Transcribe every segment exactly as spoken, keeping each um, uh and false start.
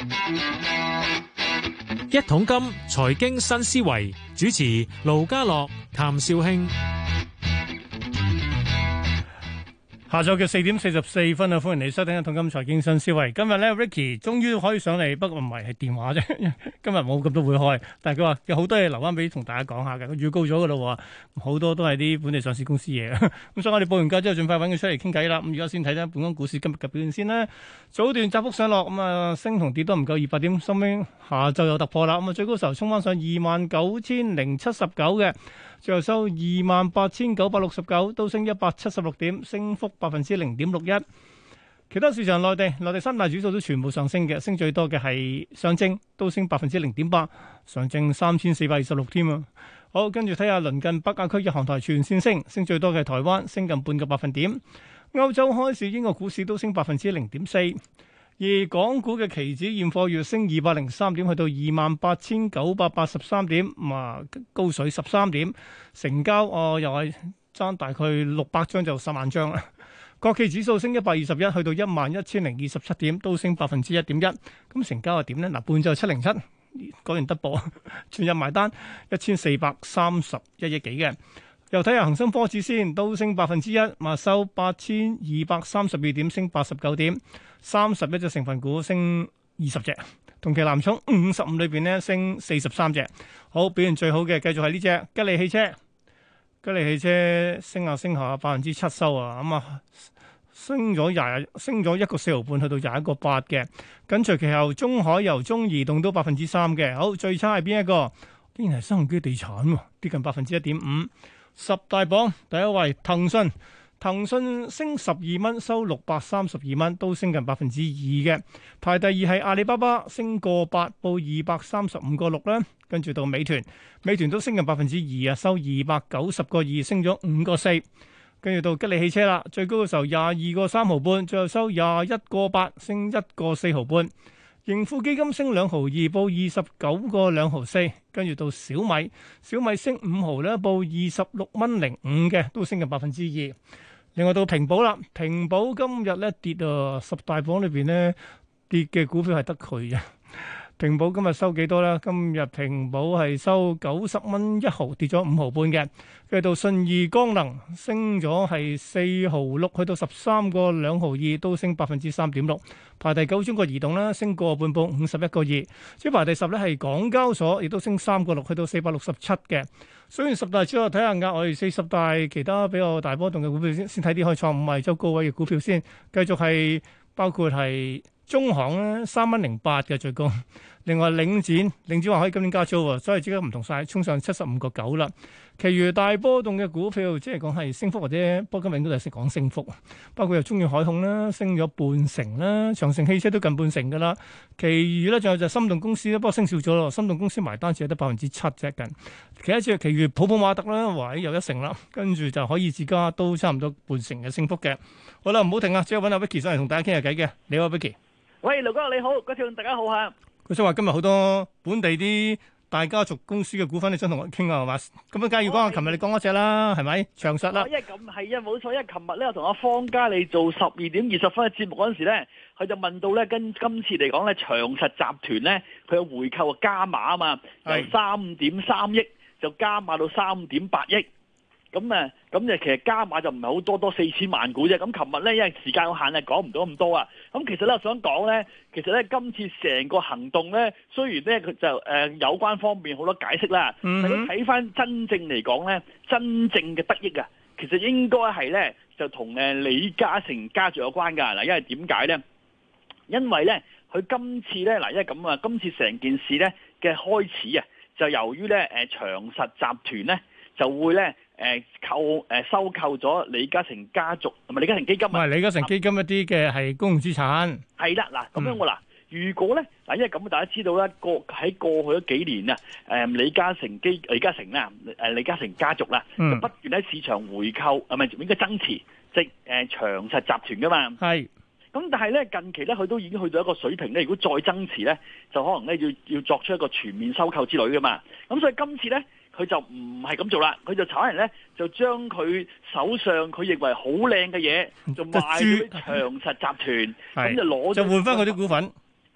一桶金財經新思維，主持盧家樂、譚紹興。 下晝嘅四點四十四分啊，歡迎你收聽《一桶金財經新思維》。今日咧，Ricky 終於可以上嚟，不過唔係係電話啫。今日冇咁多會開，但係佢話有好多嘢留翻俾同大家講下嘅。佢預告咗噶啦，好多都係啲本地上市公司嘢。咁所以我哋報完價之後，盡快揾佢出嚟傾偈啦。咁而家先睇睇本港股市今日嘅表現先啦。早段窄幅上落，咁啊升同跌都唔夠二百點，收尾下晝有突破啦。咁啊最高時候衝翻上二萬九千零七十九嘅。最後收二萬八千九百六十九，都升一百七十六點，升幅百分之零點六一。其他市場內地，內地三大指數都全部上升嘅，升最多嘅係上證，都升百分之零點八，上證三千四百二十六添啊。好，跟住睇下鄰近北亞區日韓台全線升，升最多嘅係台灣，升近半個百分點。歐洲開市，英國股市都升百分之零點四。而港股嘅期指現貨月升二百零三點，去到二萬八千九百八十三點，啊高水十三點，成交哦又係爭大概六百張就十萬張啦。國企指數升一百二十一，去到一萬一千零二十七點，都升百分之一點一。咁成交係點咧？嗱，半晝七零七，講完得報，全日埋單一千四百三十一億幾嘅。又睇下恒生科指先，都升百分之一，嘛收八千二百三十二點，升八十九點，三十一隻成分股升二十隻，同期藍籌五十五裏邊咧升四十三隻。好，表現最好嘅繼續係呢隻吉利汽車，吉利汽車升下升下百分之七收啊，咁啊升咗廿升咗一個四毫半，去到廿一個八嘅。緊隨其後中海油、中移動都百分之三嘅。好，最差係邊一個？竟然係新鴻基地產，跌近百分之一點五。十大榜第一位騰訊，騰訊升十二蚊，收六百三十二蚊，都升近百分之二嘅。排第二係阿里巴巴，升個八，報二百三十五個六啦。跟住到美團，美團都升近百分之二啊，收二百九十個二，升咗五個四。跟住到吉利汽車啦，最高嘅時候廿二個三毫半，最後收廿一個八，升一個四毫半。盈富基金升兩毫二，報二十九個兩毫四，跟住到小米，小米升五毫咧，報二十六蚊零五嘅，都升近百分之二。另外到平保啦，平保今日咧跌啊，十大榜裏邊咧跌嘅股票係得佢嘅。平保今日收幾多咧？今日平保係收九十蚊一毫，跌咗五毫半嘅。跟住到信義光能升咗係四毫六，去到十三個兩毫二，都升百分之三點六。排第九中國移動啦，升個半，報五十一個二。即排第十咧係港交所，亦都升三個六，去到四百六十七嘅。雖然十大之後睇下額外四十大其他比較大波動嘅股票先，先睇啲開創五日周高位嘅股票先。繼續係包括係中行咧，三蚊零八嘅最高。另外領展，領展話可以今年加租喎，所以即刻唔同晒，衝上七十五個九啦。其餘大波動嘅股票，即係講係升幅或者波金永都係識講升幅，包括有中遠海控啦，升咗半成啦，長城汽車都近半成噶啦。其餘咧仲有就心動公司咧，不過升少咗咯，心動公司埋單只係得百分之七啫近。其他隻其餘普普馬特啦，話又一成啦，跟住就可以自家都差唔多半成嘅升幅嘅。好啦，唔好停啊，即刻揾阿 Vicky 上嚟同大家傾下偈嘅。你好 Vicky。 喂，盧哥你好，嗰條大家好嚇。 佢想話今日好多本地啲大家族公司嘅股份，你想同我傾啊，係嘛？咁啊，梗係要講下，琴日你講嗰隻啦，係咪？長實啦。 因為咁係啊，冇錯。因為琴日咧，我同阿方嘉利做十二點二十分嘅節目嗰陣時咧，佢就問到咧，跟今次嚟講咧，長實集團咧，佢有回購啊加碼啊嘛，由三點三億就加碼到三點八億。咁啊，咁就其實加碼就唔係好多，多四千萬股啫。咁琴日咧，因為時間有限啊，講唔到咁多啊。咁其實咧，我想講咧，其實咧，今次成個行動咧，雖然咧佢就誒、呃、有關方面好多解釋啦，但係睇翻真正嚟講咧，真正嘅得益啊，其實應該係咧就同誒李嘉誠家族有關㗎嗱。因為點解咧？因為咧，佢今次咧嗱，因為咁啊，今次成件事咧嘅開始啊，就由於咧誒長實集團咧就會咧。誒購誒收購咗李嘉誠家族同埋李嘉誠基金啊，唔係李嘉誠基金一啲嘅係公共資產。 係啦，嗱咁樣我嗱，如果咧嗱，因為咁大家知道咧，過喺過去咗幾年啊，誒李嘉誠基李嘉誠啦，誒李嘉誠家族啦，就不斷喺市場回購，係咪應該增持即係誒長實集團噶嘛？係。咁但係咧近期咧，佢都已經去到一個水平咧，如果再增持咧，就可能咧要要作出一個全面收購之類噶嘛。咁所以今次咧。佢就唔係咁做啦，佢就炒人咧，就將佢手上佢認為好靚嘅嘢，就賣俾長實集團，咁就攞就換翻佢啲股份。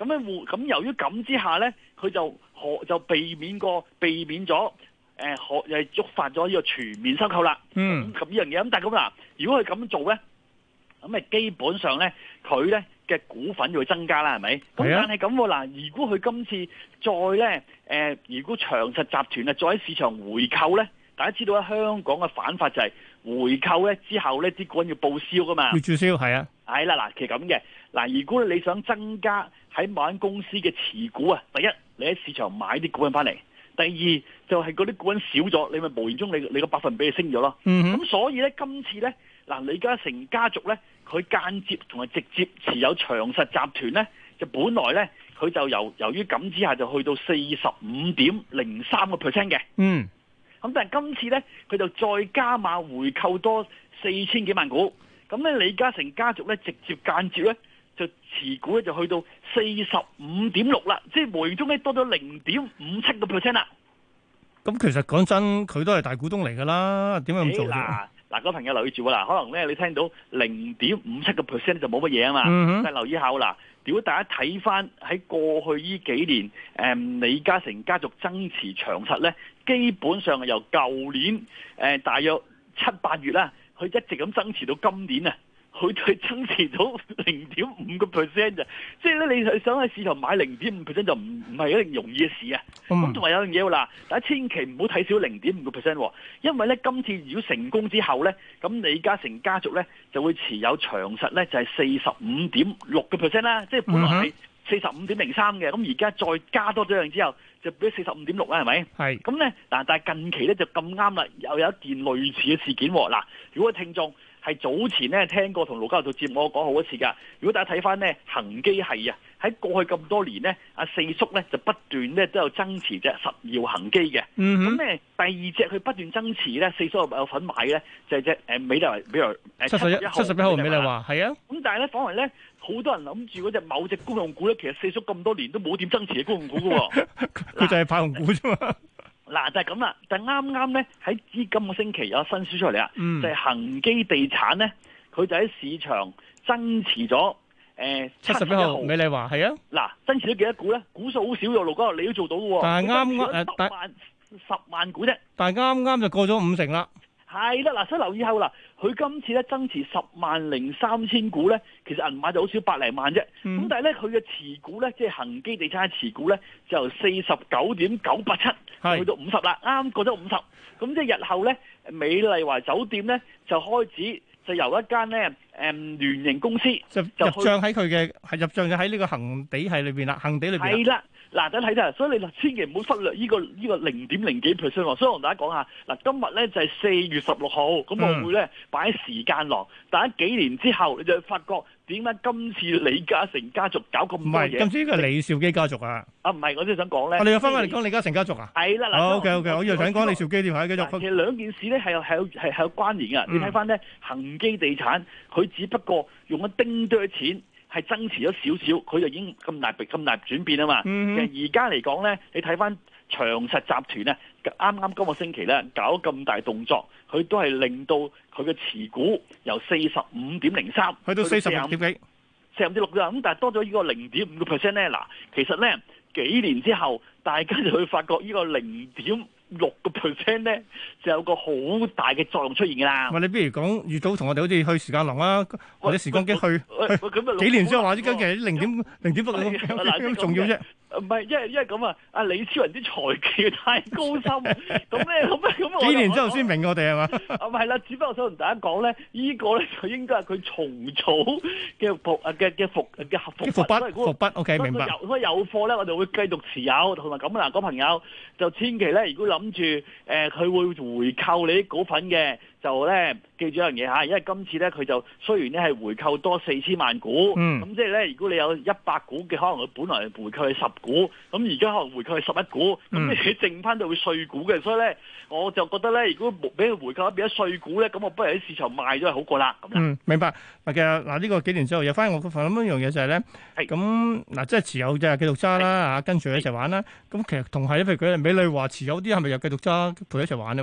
咁咧互咁由於咁之下咧，佢就可就避免過避免咗誒可又係觸發咗呢個全面收購啦。 嗯， 咁呢樣嘢咁，但係咁嗱，如果佢咁做咧，咁咪基本上咧佢咧嘅股份就會增加啦，係咪？咁但係咁嗱，如果佢今次再咧誒，如果長實集團啊再喺市場回購咧，大家知道咧香港嘅反法就係回購咧之後咧啲股份要報銷噶嘛， 要註銷係啊， 係啦嗱，其實咁嘅嗱，如果你想增加喺某間公司嘅持股啊，第一你喺市場買啲股份翻嚟，第二就係嗰啲股份少咗，你咪無形中你你個百分比就升咗咯。咁、嗯、所以咧今次咧嗱李嘉誠家族咧佢間接同埋直接持有長實集團咧，就本來咧佢就由由於咁之下就去到四十五點零三個 percent 嘅。嗯。咁但係今次咧，佢就再加碼回購多四千幾萬股，咁咧李嘉誠家族咧直接間接咧就持股咧就去到四十五點六啦，即係無形中咧多咗零點五七個 percent 啦。 咁其實講真，佢都係大股東嚟㗎啦，點解咁做啫？ 嗱嗱，個朋友留意住啦，可能咧你聽到零點五七個 percent 就冇乜嘢啊嘛，嗯、但係留意下啦。如果大家睇翻喺過去呢幾年，誒、嗯、李嘉誠家族增持長實咧，基本上係由舊年誒、呃、大約七八月啦，佢一直咁增持到今年啊，佢佢增持到零點五個 percent 咋，即係咧你係想喺市場買零點五 percent 就唔唔係一定容易嘅事啊。咁同埋有樣嘢喎嗱，大家千祈唔好睇少零點五個 percent，因為咧今次如果成功之後咧，咁李嘉誠家族咧就會持有長實咧就係四十五點六個 percent 啦，即係本來係四十五點零三嘅，咁而家再加多咗樣之後就變咗四十五點六啦，係咪？係。咁咧嗱，但係近期咧就咁啱啦，又有一件類似嘅事件喎。嗱，如果聽眾係早前咧聽過同盧家樂做節目，我講好多次㗎。如果大家睇翻咧恒基係啊，喺過去咁多年咧，阿四叔咧就不斷咧都有增持隻十耀恒基嘅。咁咧、嗯、第二隻佢不斷增持咧，四叔有份買咧，就係隻誒美麗華，比如誒七十一號，七十一號美麗華係啊。咁但係咧，反為咧好多人諗住嗰隻某隻公用股咧，其實四叔咁多年都冇點增持嘅公用股㗎喎，佢就係派紅股啫嘛。嗱就係咁啦，但係啱啱咧喺今個星期有新書出嚟啊，嗯、就係恒基地產咧，佢就喺市場增持咗誒七十一號美麗華係啊，嗱增持咗幾多股咧？股數好少喎，盧哥你都做到嘅喎，但係啱啱誒十萬十萬股啫，但係啱啱就過咗五成啦。係啦，嗱，所以留意下嗱，佢今次咧增持十萬零三千股咧，其實銀碼就好少百零萬啫。咁、嗯、但係咧，佢嘅持股咧，即係恒基地產嘅持股咧，就由四十九點九八七去到五十啦，啱過咗五十。咁即係日後咧，美麗華酒店咧就開始就由一間咧誒聯營公司就入帳喺佢嘅係入帳就喺呢個恒地系裏邊啦，恒地裏邊係啦。嗱，等睇睇，所以你千祈唔好忽略呢個呢個零點零幾 percent 喎。所以我同大家講下，嗱，今日咧就係四月十六號，咁我會咧擺喺時間廊。但係幾年之後，你就發覺點解今次李嘉誠家族搞咁多嘢？唔係，今次呢個李兆基家族啊？啊，唔係，我即係想講咧。我哋又翻返嚟講李嘉誠家族啊？係啦，嗱，OK OK，我以為想講李兆基添，係繼續。其實兩件事咧係有係有係係有關聯嘅。你睇翻咧，恒基地產佢只不過用一丁多錢。係增持咗少少，佢就已經咁大咁大轉變啊嘛。嗯、其實而家嚟講咧，你睇翻長實集團咧，啱啱今個星期咧搞咁大動作，佢都係令到佢嘅持股由四十五點零三去到四十五點幾，四十五點六啦。咁但係多咗呢個零點五個 percent 咧，嗱，其實咧幾年之後，大家就會發覺呢個零點六個 percent 咧，就有個好大嘅作用出現㗎啦。喂，你不如講預早同我哋好似去時間廊啦，或者時光機去，去幾年之後話啲跟住零點零點六咁咁重要啫。唔係，因為因為咁啊，阿李超人啲財技太高深，咁咧咁咧咁。幾年之後先明我哋係嘛？啊，唔係啦，只不過我想同大家講咧，呢個咧就應該係佢重組嘅復啊嘅嘅復嘅合復復筆復筆。O K，明白。所以有貨咧，我哋會繼續持有，同埋咁啊嗱，嗰朋友就千祈咧，如果諗住誒佢會回購你啲股份嘅。就咧記住一樣嘢嚇，因為今次咧佢就雖然咧係回購多四千萬股，咁、嗯、即係咧如果你有一百股嘅，可能佢本來回購係十股，咁而家可能回購係十一股，咁、嗯、你剩翻就會碎股嘅，所以咧我就覺得咧，如果俾佢回購變咗碎股咧，咁我不如喺市場賣咗係好過啦。嗯，明白。嗱，其實嗱呢個幾年之後又翻我諗一樣嘢就係、是、咧，咁嗱即係持有就係繼續揸啦嚇，跟住一齊玩啦。咁其實同係譬如佢美麗華持有啲係咪又繼續揸陪一齊玩咧？喂。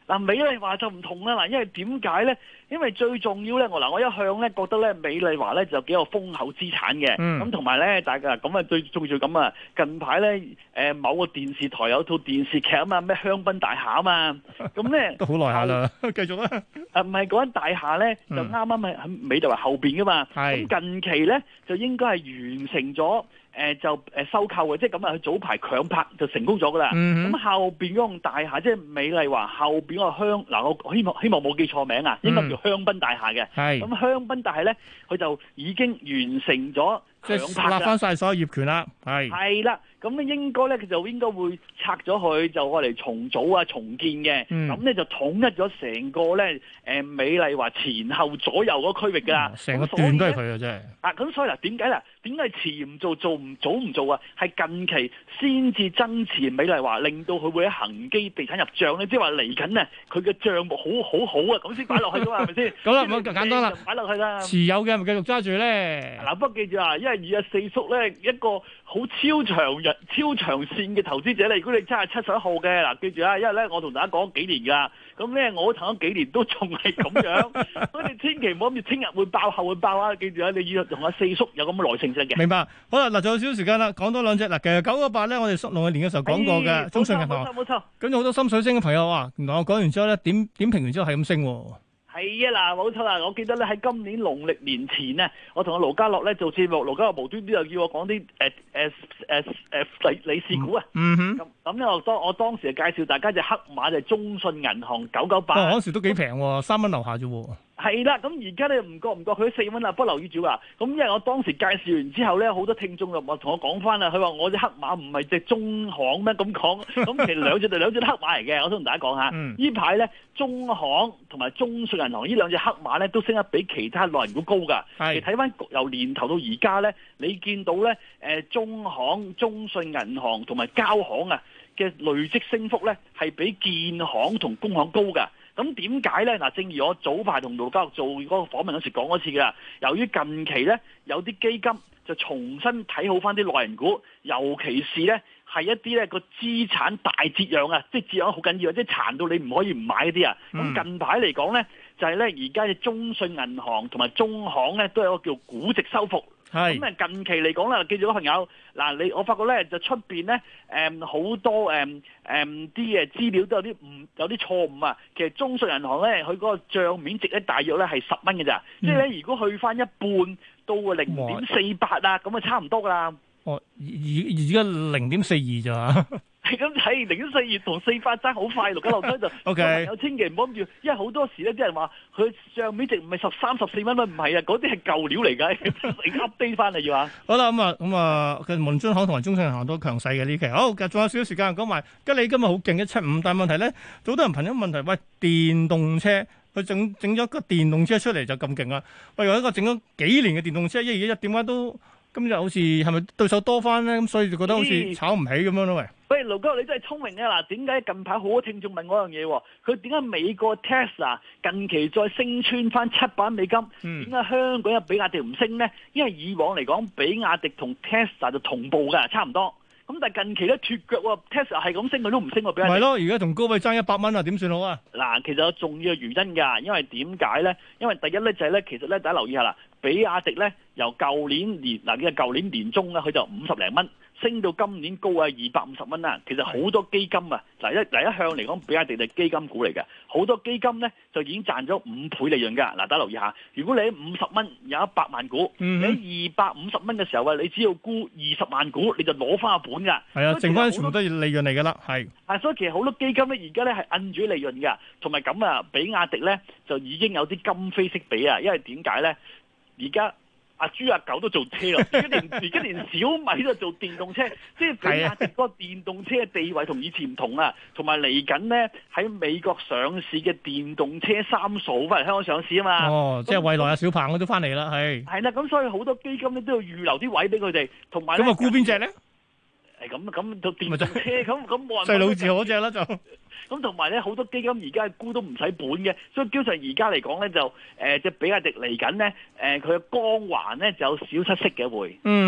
嗱，美麗華就唔同啦，嗱，因為點解咧？因為最重要咧，我嗱我一向咧覺得咧，美麗華咧就幾有豐厚資產嘅，咁同埋咧，大家咁啊最重要咁啊，近排咧誒某個電視台有套電視劇啊嘛，咩香檳大廈啊嘛，咁咧都好耐下啦，繼續啦。 誒唔係嗰間大廈咧，就啱啱喺喺美麗華後邊噶嘛，咁、嗯、近期咧就應該係完成咗。誒、呃、就誒收購嘅，即係咁啊！佢早排強拍就成功咗噶啦。咁、嗯、後邊嗰棟大廈，即係美麗華後邊嗰個香嗱，我希望希望冇記錯名啊，應該叫香檳大廈嘅。係咁香檳大廈咧，佢就已經完成咗強拍啦， 翻晒所有業權啦。係係啦，咁咧應該咧佢就應該會拆咗佢，就愛嚟重組啊、重建嘅。咁、嗯、咧就統一咗成個咧誒美麗華前後左右嗰區域㗎啦。成、嗯、個段都係佢啊，真係。啊，咁所以嗱，點解嗱？點解遲唔做做唔早唔做啊？係近期先至增持美麗華，令到佢會喺恒基地產入帳咧，即係話嚟緊啊，佢嘅帳目好好好啊，咁先擺落去㗎嘛，係咪先？咁啦，咁簡單啦，擺落去啦。持有嘅咪繼續揸住咧。嗱，不過記住啊，因為二十四叔咧一個好超長日、超長線嘅投資者咧，如果你真係七十一號嘅嗱，記住啊，因為咧我同大家講幾年㗎，咁咧我投咗幾年都仲係咁樣，所以你千祈唔好諗住聽日會爆後會爆啊！記住啊，你要同阿四叔有咁嘅耐性嘅。 明白。好啦，嗱，仲有少少時間啦，講多兩隻嗱。其實九個八咧，我哋農曆年嘅時候講過嘅、哎，中信銀行。冇錯冇錯。咁有好多心水星嘅朋友話，原來我講完之後咧，點點評完之後係咁升。 係啊，嗱，冇錯啦。我記得咧喺今年農曆年前咧，我同阿盧家樂咧做節目，盧家樂無端端又叫我講啲誒誒誒誒理理事股啊。嗯哼。咁咁咧，我當我當時就介紹大家隻黑馬就係中信銀行九九八。 哦，嗰時都幾平喎，三蚊樓下啫喎。 係啦，咁而家咧唔覺唔覺佢四蚊啦，不留意住啊！咁因為我當時介紹完之後咧，好多聽眾就話同我講翻啦，佢話我隻黑馬唔係隻中行咩咁講？咁其實兩隻就兩隻都黑馬嚟嘅，我想同大家講下。呢排咧中行同埋中信銀行呢兩隻黑馬咧都升得比其他內銀股高㗎。係睇翻由年頭到而家咧，你見到咧誒中行、中信銀行同埋交行啊嘅累積升幅咧係比建行同工行高㗎。咁點解咧？嗱，正如我早排同盧家樂做嗰個訪問嗰時講嗰次㗎，由於近期咧有啲基金就重新睇好翻啲內銀股，尤其是咧係一啲咧個資產大折讓啊，即係折讓好緊要，即係殘到你唔可以唔買嗰啲啊。咁、嗯、近排嚟講咧，就係咧而家嘅中信銀行同埋中行咧都有一個叫估值修復。係咁啊！近期嚟講啦，記住嗰朋友嗱，你我發覺咧就出邊咧誒好多誒誒啲誒資料都有啲唔有啲錯誤啊！其實中信銀行咧，佢嗰個帳面值咧大約咧係十蚊嘅咋，即係咧如果去翻一半到零點四八啊，咁啊差唔多噶啦。哦，而而而家零點四二咋？係咁睇零點四二同四八爭好快，六九六七就 OK。有千祈唔好諗住，因為好多時咧啲人話佢帳面值唔係十三十四蚊咩？唔係啊，嗰啲係舊料嚟㗎，你 update 翻嚟要啊。好啦，咁啊咁啊，無論中行同埋中信銀行都強勢嘅呢期。好，仲有少少時間講埋，吉利今日好勁一七五，但係問題咧，好多人問咗問題，喂，電動車佢整整咗個電動車出嚟就咁勁啊？喂，有一個整咗幾年嘅電動車，一而家點解都今日好似係咪對手多翻咧？咁所以就覺得好似炒唔起咁樣咯，喂。喂，盧哥，你真係聰明啊！嗱，點解近排好多聽眾問我樣嘢？佢點解美國 Tesla 近期再升穿翻七百蚊美金？點解香港有比亞迪唔升呢？因為以往嚟講，比亞迪同 Tesla 就同步㗎，差唔多。咁但係近期咧脫腳喎 ，Tesla 係咁升，佢都唔升喎，比亞迪。係咯，而家同高位爭一百蚊啊，點算好啊？嗱，其實有重要嘅原因㗎，因為點解咧？因為第一咧就係咧，其實咧大家留意下啦，比亞迪咧由舊年年嗱嘅舊年年中咧，佢就五十零蚊。升到今年高啊二百五十蚊啦，其實好多基金啊，嗱一嗱一向嚟講，比亞迪係基金股嚟嘅，好多基金咧就已經賺咗五倍利潤㗎。嗱，大家留意下，如果你喺五十蚊有一百萬股，嗯、你喺二百五十蚊嘅時候啊，你只要沽二十萬股，你就攞翻個本㗎。係啊，剩翻全部都係利潤嚟㗎啦，係。啊，所以其實好多基金咧，而家咧係摁住利潤㗎，同埋咁啊，比亞迪咧就已經有啲今非昔比啊，因為點解咧？而家阿豬阿狗都做車咯，而家連而家連小米都做電動車，即係比亞迪嗰個電動車嘅地位同以前唔同啊，同埋嚟緊咧喺美國上市嘅電動車三數翻嚟香港上市啊嘛。哦，即係蔚來啊、小鵬我都翻嚟啦，係。係啦，咁所以好多基金咧都要預留啲位俾佢哋，同埋咁啊沽邊隻咧？誒咁咁到電動車咁咁冇人細佬字嗰隻啦就。咁同埋咧，好多基金而家沽都唔使本嘅，所以基本上而家嚟講咧就誒，即、呃、比亞迪嚟緊咧，誒佢嘅光環咧就有少失色嘅會。嗯哼，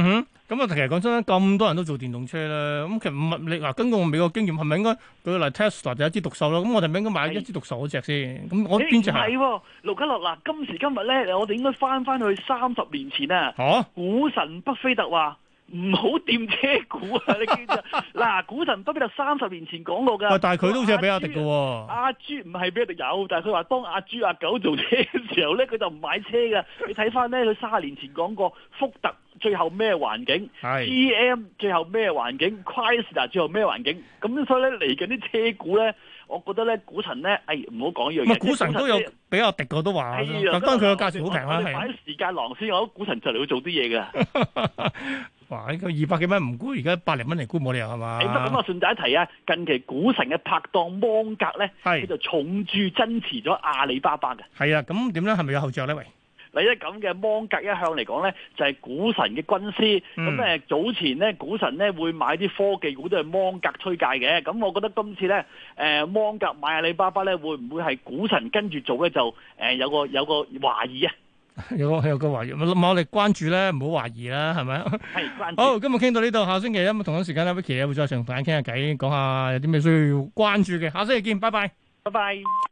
咁啊，其實講真咁多人都做電動車啦，咁其實唔係你嗱，根據我美國經驗，係咪應該舉個例 Tesla 就一枝獨秀咯？咁我哋咪應該買一枝獨秀嗰隻先？咁我邊隻係？ 係喎，盧家樂嗱，今時今日咧，我哋應該翻翻去三十年前啊！ 嚇， 股神巴菲特話唔好掂車股啊！你記唔記得？嗱，股神巴菲特三十年前講過㗎。 但係佢都好似係比亞迪嘅喎。 阿豬唔係比亞迪有，但係佢話當阿豬阿狗做車嘅時候咧，佢就唔買車㗎。你睇翻咧，佢三十年前講過福特。最後咩環境？G M 最後咩環境 ？Chrysler 最後咩環境？咁所以咧嚟緊啲車股咧，我覺得咧股神咧，誒唔好講呢樣嘢。 唔係股神都有比較敵過都話，咁當然佢個價錢好平啦。係。 擺時間囊先，我覺得股神就嚟會做啲嘢㗎。 哇！呢個二百幾蚊唔沽，而家百零蚊嚟沽冇理由係嘛？ 咁我順帶一提啊，近期股神嘅拍檔芒格咧，佢就重注增持咗阿里巴巴嘅。係啊，咁點咧？係咪有後著咧？喂？ 嗱，一咁嘅芒格一向嚟講咧，就係股神嘅軍師。咁誒、嗯、早前咧，股神咧會買啲科技股都係芒格推介嘅。咁我覺得今次咧，誒芒格買阿里巴巴咧，會唔會係股神跟住做咧？就誒有個有個懷疑啊！ 有個有個懷疑，我哋關注咧，唔好懷疑啦，係咪？ 係關注。 好，今日傾到呢度，下星期一同一時間咧，Vicky 會再同大家傾下偈，講下有啲咩需要關注嘅。下星期見，拜拜， 拜拜。